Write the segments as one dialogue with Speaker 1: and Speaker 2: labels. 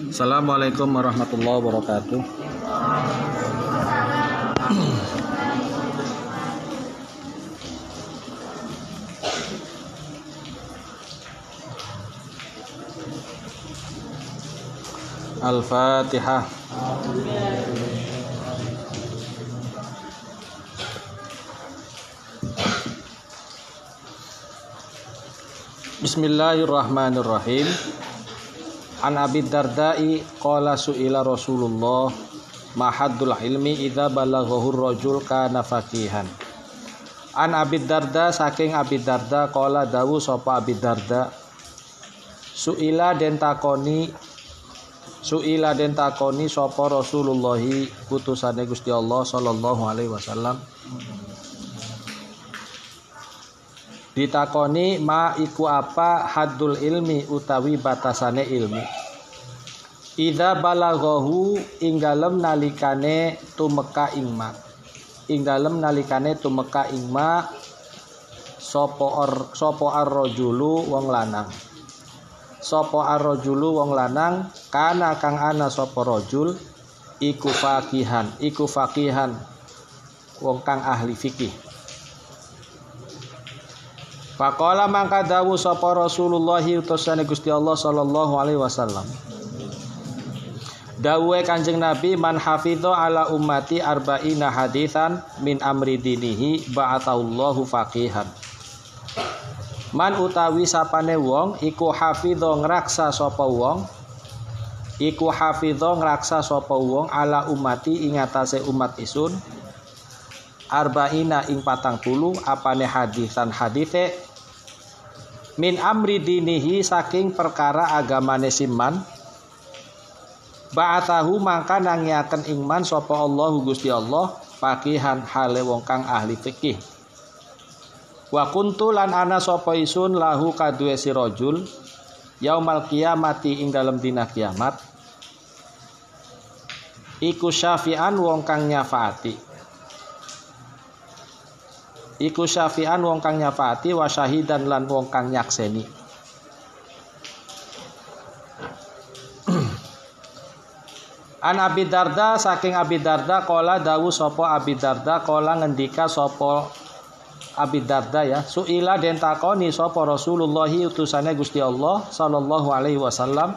Speaker 1: Assalamualaikum warahmatullahi wabarakatuh. Al-Fatihah. Bismillahirrahmanirrahim. An Abi Darda'i qala su'ila Rasulullah ma haddul ilmi idza balaghahu rajul kana faqihan. An Abi Darda, saking Abi Darda, qala dawu sapa Abi Darda, su'ila den takoni sapa Rasulullah putusane Gusti Allah sallallahu alaihi wasallam, ditakoni ma iku apa haddul ilmi utawi batasane ilmu, idza balaghahu ing dalem nalikane tumeka ing ma, sapa ar-rajulu wong lanang, kana kang ana sapa rajul iku faqihan wong kang ahli fikih. Faqala mangka dawu sapa Rasulullah utusane Gusti Allah sallallahu alaihi wasallam, dawuhe Kanjeng Nabi, man hafidha ala ummati arba'ina haditsan min amri dinihi ba'athallahu faqihan. Man utawi sapane wong iku hafidha ngraksa sapa wong ala ummati ing atase umat isun arba'ina ing 40 apane hadisan hadithe min amri dinihi saking perkara agamane siman, ba'athahu mangka nangiaken ingman sapa Allahu Gusti Allah faqihan hale wong kang ahli fikih. Wa kuntu lan ana sapa isun lahu kaduwe si rajul yaumal qiyamati ing dalem dina kiamat iku syafi'an wong kang nyafaati, wa syahidan lan wong kang nyakseni. An Abi Darda, saking Abi Darda, qala dawu sapa Abi Darda, qala ngendika sapa Abi Darda ya, suila den takoni sapa Rasulullah utusane Gusti Allah sallallahu alaihi wasallam,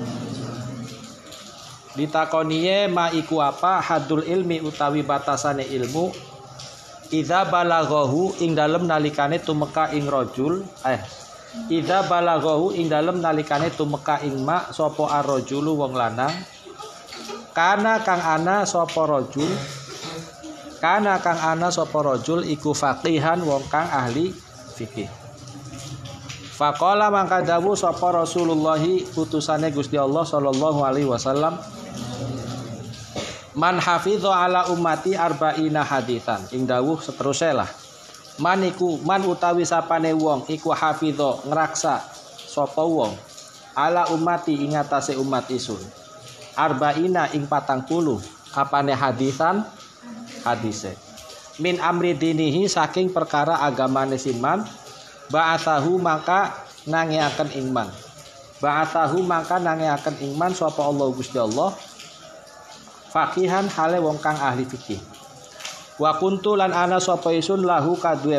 Speaker 1: ditakoniye ma iku apa hadul ilmi utawi batasane ilmu, idza balaghahu ing dalem nalikane tumeka ing rajul, idza balaghahu ing dalem nalikane tumeka ing mak sapa ar-rajulu wong lanang, kana kang ana sapa rajul iku faqihan wong kang ahli fikih. Faqala mangka dawuh sapa Rasulullah utusane Gusti Allah sallallahu alaihi wasallam, man hafidha ala ummati arba'ina haditsan, ing dawuh seterusé lah, man utawi sapane wong iku hafidha ngraksa sapa wong ala ummati ing atase umat isun arba'ina ing 40 apane haditsan hadise min amri dinihi saking perkara agamane siman, ba'athahu mangka nangiaken ingman sapa Allah Gusti Allah faqihan hale wong kang ahli fikih. Wa kuntu lan ana sapa isun lahu kaduwe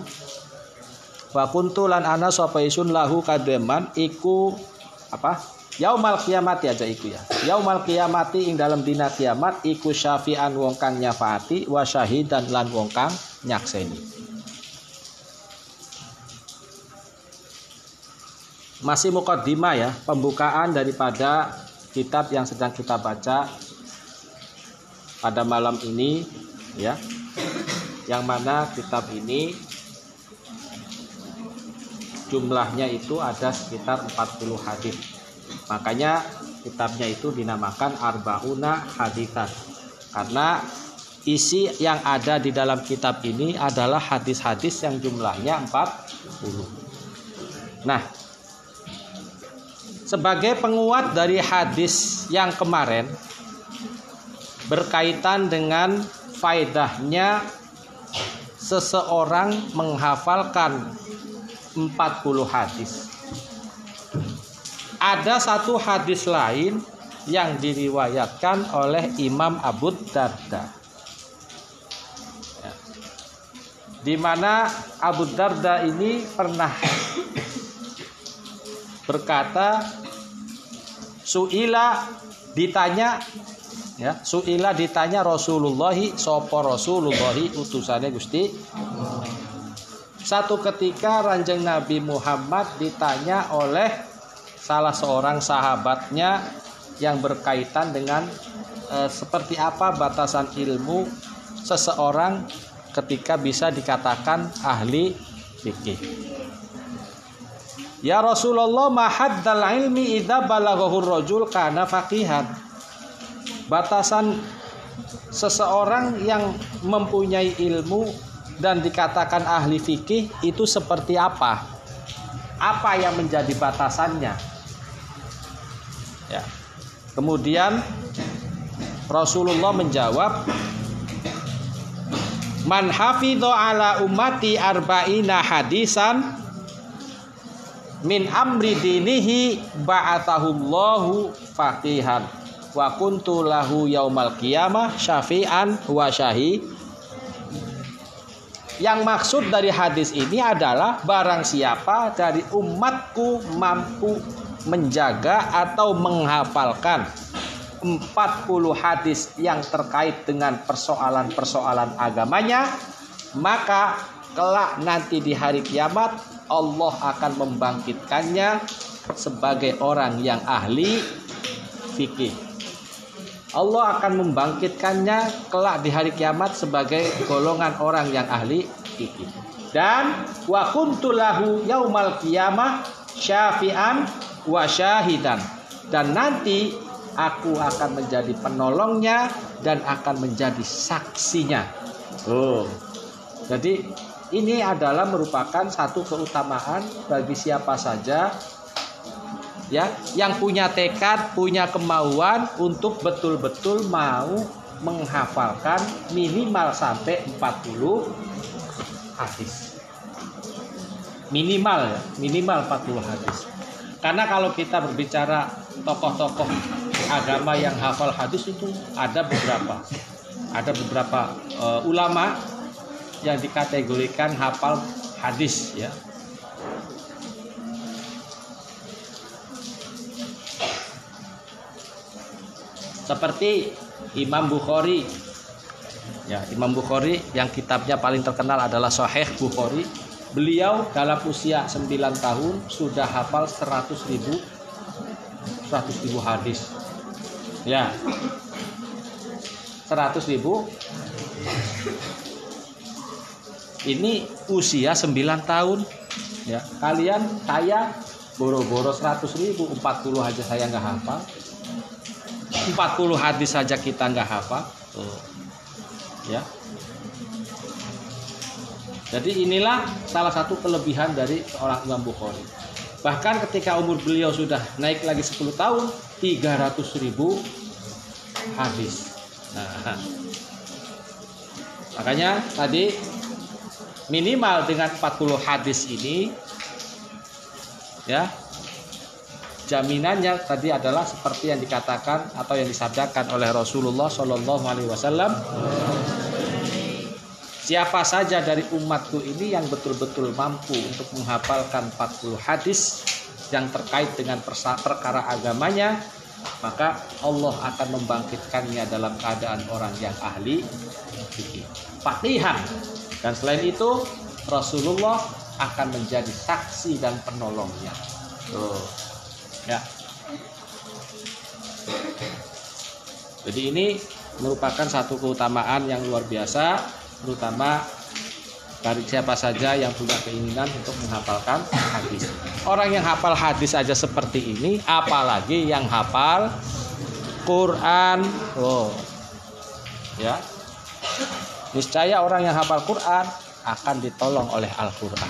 Speaker 1: man iku apa? Yaumal qiyamati aja iku ya. Yaumal qiyamati ing dalam dina kiamat iku syafi'an wong kang nyafaati, wa syahidan lan wong kang nyakseni. Masih muqaddimah ya, pembukaan daripada kitab yang sedang kita baca pada malam ini ya, yang mana kitab ini jumlahnya itu ada sekitar 40 hadis. Makanya kitabnya itu dinamakan Arba'una Haditsan, karena isi yang ada di dalam kitab ini adalah hadis-hadis yang jumlahnya 40. Nah, sebagai penguat dari hadis yang kemarin berkaitan dengan faedahnya seseorang menghafalkan 40 hadis. Ada satu hadis lain yang diriwayatkan oleh Imam Abu Darda. Ya. Di mana Abu Darda ini pernah berkata, Su'ila ditanya Rasulullahi sapa Rasulullahi utusane Gusti. Satu ketika Ranjang Nabi Muhammad ditanya oleh salah seorang sahabatnya yang berkaitan dengan seperti apa batasan ilmu seseorang ketika bisa dikatakan ahli fikih. Ya Rasulullah, ma haddal ilmi idza balaghahu rajul kana faqihan. Batasan seseorang yang mempunyai ilmu dan dikatakan ahli fikih itu seperti apa? Apa yang menjadi batasannya? Ya. Kemudian Rasulullah menjawab, man hafidho ala ummati arba'ina hadisan min amri dinihi ba'athahullahu faqihan wa kuntu lahu yaumal qiyamah syafi'an wa syahid. Yang maksud dari hadis ini adalah barang siapa dari umatku mampu menjaga atau menghafalkan 40 hadis yang terkait dengan persoalan-persoalan agamanya, maka kelak nanti di hari kiamat Allah akan membangkitkannya sebagai orang yang ahli fikih. Allah akan membangkitkannya kelak di hari kiamat sebagai golongan orang yang ahli fikih. Dan wa kuntu lahu yaumal qiyamah syafi'an wa syahidan. Dan nanti aku akan menjadi penolongnya dan akan menjadi saksinya. Jadi ini adalah merupakan satu keutamaan bagi siapa saja ya yang punya tekad, punya kemauan untuk betul-betul mau menghafalkan minimal sampai 40 hadis. Minimal 40 hadis. Karena kalau kita berbicara tokoh-tokoh agama yang hafal hadis itu ada beberapa ulama yang dikategorikan hafal hadis ya. Seperti Imam Bukhari. Ya, Imam Bukhari yang kitabnya paling terkenal adalah Sahih Bukhari. Beliau dalam usia 9 tahun sudah hafal 100.000 hadis. Ya. 100.000. Ini usia 9 tahun. Ya, saya boro-boro 100.000, 40 aja saya nggak hafal. 40 hadis saja kita nggak hafal. Ya. Jadi inilah salah satu kelebihan dari seorang Imam Bukhari. Bahkan ketika umur beliau sudah naik lagi 10 tahun, 300.000 hadis. Nah, makanya tadi minimal dengan 40 hadis ini ya, jaminannya tadi adalah seperti yang dikatakan atau yang disabdakan oleh Rasulullah SAW. Siapa saja dari umatku ini yang betul-betul mampu untuk menghafalkan 40 hadis yang terkait dengan perkara agamanya, maka Allah akan membangkitkannya dalam keadaan orang yang ahli fikih, faqihan. Dan selain itu Rasulullah akan menjadi saksi dan penolongnya. Ya. Jadi ini merupakan satu keutamaan yang luar biasa, terutama dari siapa saja yang punya keinginan untuk menghafalkan hadis. Orang yang hafal hadis aja seperti ini, apalagi yang hafal Quran. Ya. Niscaya orang yang hafal Quran akan ditolong oleh Al-Quran.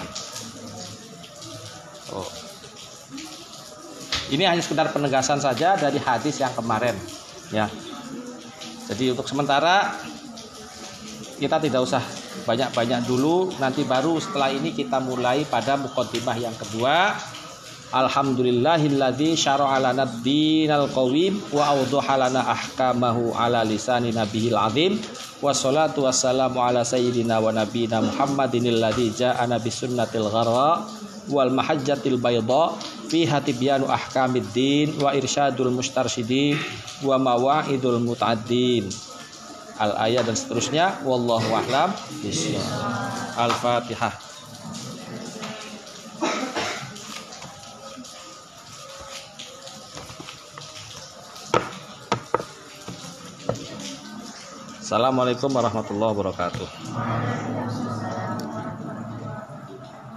Speaker 1: Ini hanya sekedar penegasan saja dari hadis yang kemarin. Ya. Jadi untuk sementara kita tidak usah banyak-banyak dulu, nanti baru setelah ini kita mulai pada muqaddimah yang kedua, Alhamdulillahilladzi syara'a lana ad-dinal qawim wa awdaha lana ahkamahu ala lisani nabiyil azim. Wassalatu wassalamu ala sayyidina wa nabiyina Muhammadinil ladzi ja'ana bisunnatil gharra wal mahajjatil bayda fiha tibyanu ahkamid din wa irsyadul mustarsyidin wa mawa'idul muta'addin. Al-ayat dan seterusnya. Wallahu a'lam bishawab. Al-Fatihah. Assalamualaikum warahmatullahi wabarakatuh.